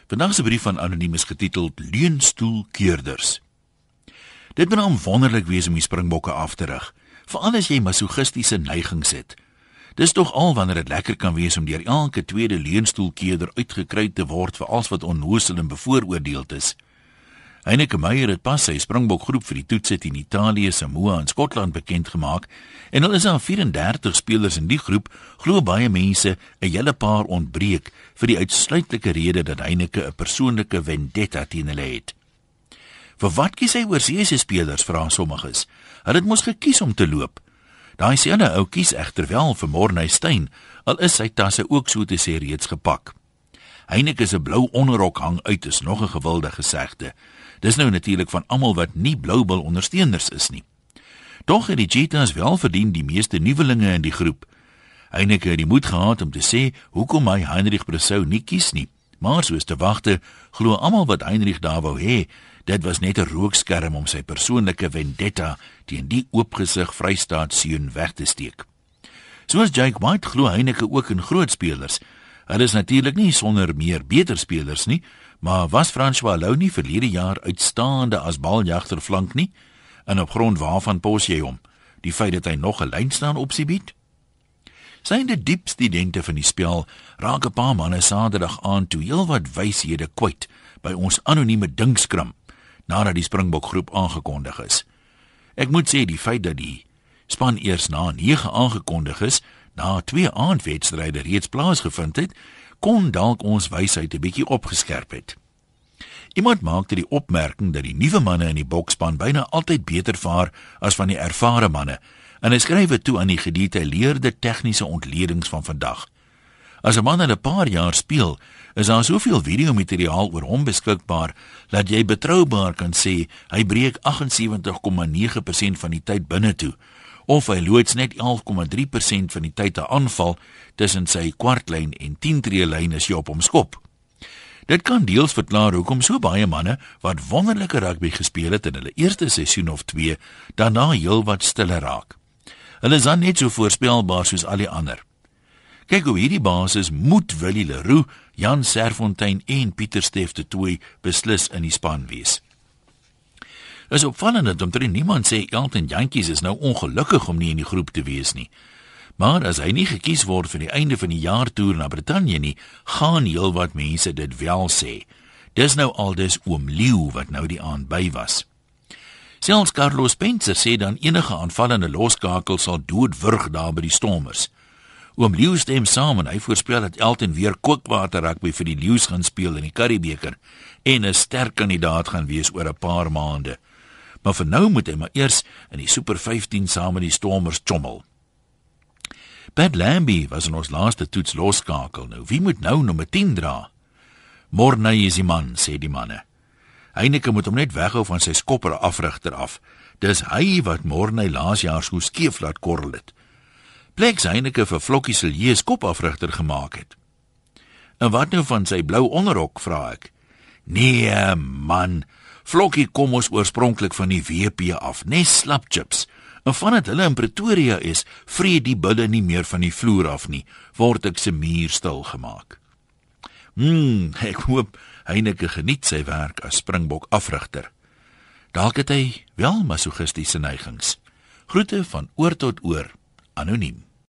Vandag se brief van Anoniem is getiteld Leunstoelkeerders. Dit moet nou wonderlik wees om die springbokke af te rig, veral as jy masochistiese neigings het. Dis tog al wanneer dit lekker kan wees om deur elke tweede leunstoelkeerder uitgekry te word vir alles wat onnoosel en bevooroordeeld is. Heineke Meyer het pas sy springbokgroep vir die toetse teen Italië, Samoa en Skotland bekend gemaak en al is daar 34 spelers in die groep, glo baie mense 'n hele paar ontbreek vir die uitsluitlike rede dat Heineke 'n persoonlike vendetta teen hulle het. Vir wat kies hy oorseese spelers, vra sommiges? Hulle het mos gekies om te loop. Daai selfe ou kies egter wel vir Morney Steyn, al is sy tasse ook so te sê reeds gepak. Heineke se blou onderrok hang uit is nog 'n gewilde gesegde. Dis nou natuurlik van almal wat nie Bloubil ondersteuners is nie. Tog het die Cheetahs wel verdien die meeste nuwelinge in die groep. Heineke het die moed gehad om te sê hoekom hy Heinrich Bressou nie kies nie, maar soos te wagte, glo almal wat Heinrich daar wou hê, dit was net 'n rookskerm om sy persoonlike vendetta teen die oopgesig Vrystaatseun weg te steek. Soos Jake White glo Heineke ook in groot spelers. Hulle is natuurlik nie sonder meer beter spelers nie, maar was François Lou nie verlede jaar uitstaande as baljagter flank nie? En op grond waarvan pos jy hom? Die feit dat hy nog 'n lynstaan opsie bied? Synde diep studente van die spel raak 'n paar manne Saterdag aan toe heelwat wyshede kwyt by ons anonieme dinkskram nadat die springbokgroep aangekondig is. Ek moet sê die feit dat die span eers na 9 aangekondig is, na 2 aandwedstryde reeds plaasgevind het, kon dalk ons wysheid 'n bietjie opgeskerp het. Iemand maakte die opmerking dat die nuwe manne in die bokspan byna altyd beter vaar as van die ervare manne, en hy skryf dit toe aan die gedetailleerde tegniese ontledings van vandag. As 'n man al 'n paar jaar speel, is daar soveel videomateriaal oor hom beskikbaar dat jy betroubaar kan sê hy breek 78,9% van die tyd binne toe, of hy loods net 11,3% van die tyd 'n aanval tussen sy kwartlyn en 10-tree-lyn as jy op hom skop. Dit kan deels verklaar hoekom so baie manne wat wonderlike rugby gespeel het in hulle eerste seisoen of 2, daarna heelwat stiller raak. Hulle is dan net so voorspelbaar soos al die ander. Kyk hoe hierdie basis moet Willie Leroux, Jan Serfontein en Pieter Steff de Tooy beslis in die span wees. Is opvallend dat omtrent niemand sê Elton Jantjies is nou ongelukkig om nie in die groep te wees nie. Maar as hy nie gekies word vir die einde van die jaartoer na Brittanje nie, gaan heelwat mense dit wel sê. Dis nou aldus oom Leeu wat nou die aand by was. Selfs Carlos Spencer sê dan enige aanvallende loskakel sal doodwurg daar by die Stormers. Oom Leeu stem saam en hy voorspel dat Elton weer kookwater rugby vir die Leeu's gaan speel in die Curriebeeker en 'n sterk kandidaat gaan wees oor 'n paar maande. Maar vir nou moet hy maar eers in die Super 15 saam met die Stormers chommel. Pat Lambie was in ons laaste toets loskakel. Nou, wie moet nou nommer 10 dra? Morney is die man, sê die manne. Heineke moet hom net weghou van sy skopper afrigter af. Dis hy wat Morney laas jaar so skeef laat korrel het. Pleks Heineke vir Flokkie Silje skopafrigter gemaak het. En wat nou van sy blou onderrok, vra ek? Nee man, Flokkie kom ons oorspronklik van die WP af, nes slapchips. En vandat hulle in Pretoria is, vreet die bulle nie meer van die vloer af nie, word ek se muur stil gemaak. Ek hoop Heineke geniet sy werk as springbok afrigter. Dalk het hy wel masochistiese neigings. Groete van oor tot oor, anoniem.